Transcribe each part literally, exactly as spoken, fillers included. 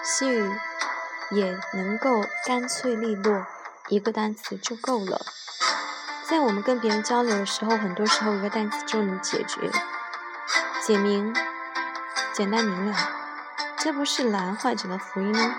西语也能够干脆利落，一个单词就够了。在我们跟别人交流的时候，很多时候一个单词就能解决，解明，简单明了，这不是蓝患者的福音吗？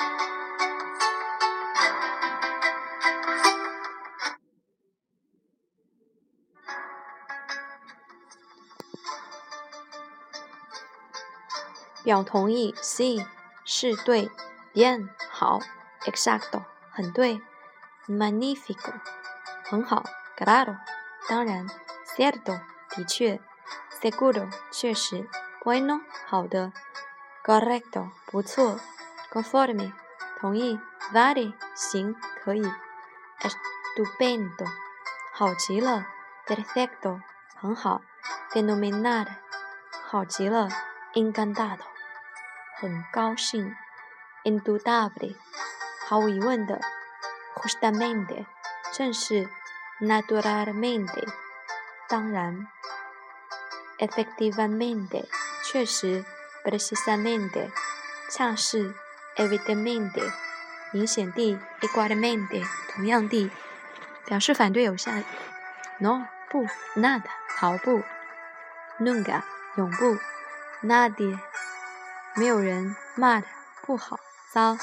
表同意 sí 是对 bien 好 exacto 很对 magnífico 很好 claro 当然 cierto 的确 seguro 确实 bueno 好的 correcto 不错 conforme 同意 vale 行可以 estupendo 好极了 perfecto 很好 fenomenal 好极了 encantado很高兴 indudable 毫无疑问的 justamente 正是 naturalmente 当然 efectivamente 确实 precisamente 恰是 evidentemente 明显地 igualmente 同样地表示反对有下 no 不 nada 毫不 nunca 永不 nadie 没有人 mal 不好糟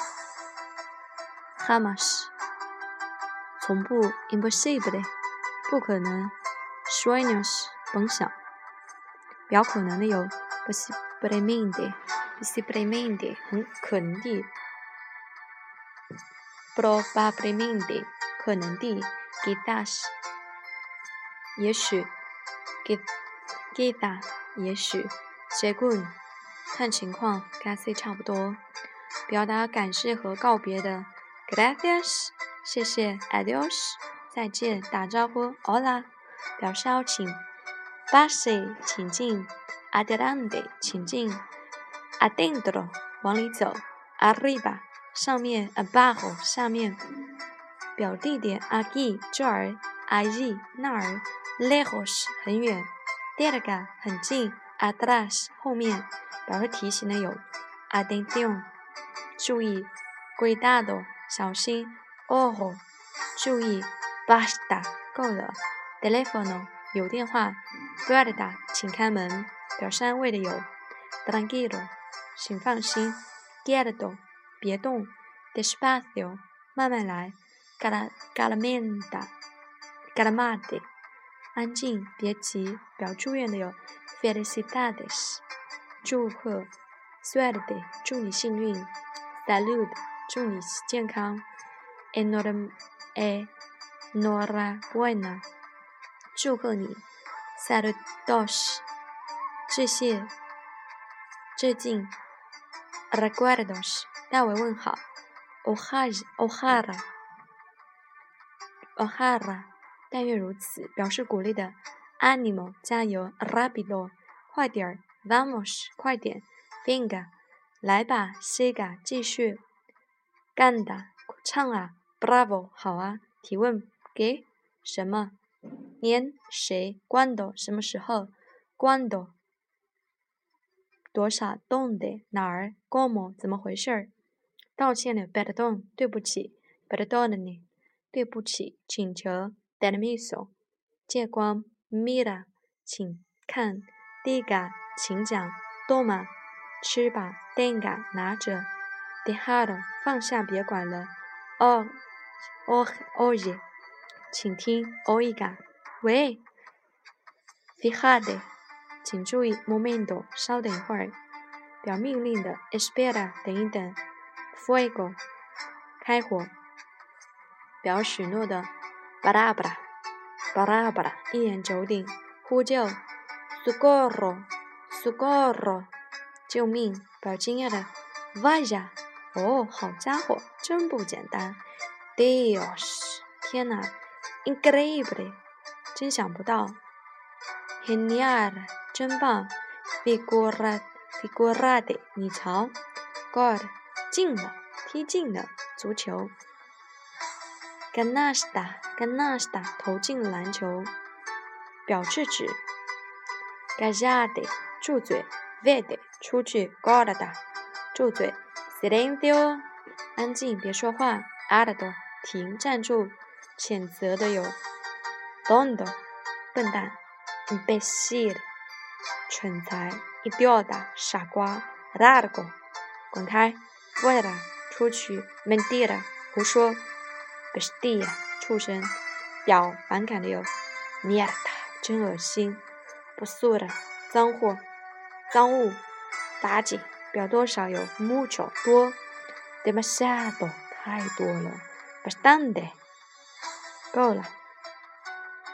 jamás 从不 imposible 不可能 sueños 甭想表可能的有 posiblemente posiblemente 很可能地 probablemente 可能地 quizás 也许 quizá 也许 según看情况 casi 差不多表达感谢和告别的 gracias 谢谢 adios 再见打招呼 hola 表示邀请 pase 请进 adelante 请进 adentro 往里走 arriba 上面 abajo 下面表地点 aquí 这儿 allí 那儿 lejos 很远 cerca 很近 atrás 后面表示提醒的有 atención 注意 cuidado 小心 ojo 注意 basta 够了 teléfono 有电话 puerta 请开门表示安慰的有 tranquilo 请放心 quieto 别动 despacio 慢慢来 calmada calmate 安静别急表祝愿的有 felicidades 祝贺 suerte 祝你幸运 salud 祝你健康 enhorabuena 祝贺你 saludos 致谢致敬 recuerdos 代为问好 ojalá ojalá ojalá 但愿如此表示鼓励的 ánimo 加油 rápido 快点儿 vamos 快点 venga 来吧 siga 继续 canta 唱啊 bravo 好啊提问 qué 什么 quién 谁 cuándo 什么时候 cuándo 多少 dónde 哪儿 cómo 怎么回事道歉的 perdón 对不起 perdóname 对不起请求 permiso 借光 mira 请看 diga 请讲 toma 吃吧 tenga 拿着 dejar 放下别管了 o o oye 请听 oiga 喂 fíjate 请注意 momento 稍等一会儿表命令的 espera 等一等 fuego 开火表许诺的 palabra palabra 一言九鼎呼救 socorro socorro 救命表惊讶的 vaya 哦好家伙真不简单 Dios 天哪 increíble 真想不到 genial 真棒 figura figurate 你瞧 gol 进了踢进了足球 canasta canasta 投进了篮球表制止 callate 住嘴 vete 出去 guarda 住嘴 silencio， 安静，别说话。alto， 停，站住。谴责的有 tonto， 笨蛋。imbécil， 蠢材。idiota， 傻瓜。largo， 滚开。fuera， 出去。mentira， 胡说。bestia， 畜生。表，反感的有 mierda， 真恶心。basura， 脏货，脏物。垃圾，表多少有 mucho， 多。demasiado， 太多了。bastante， 够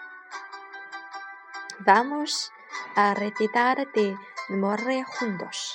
了。Vamos a recitar de memoria juntos.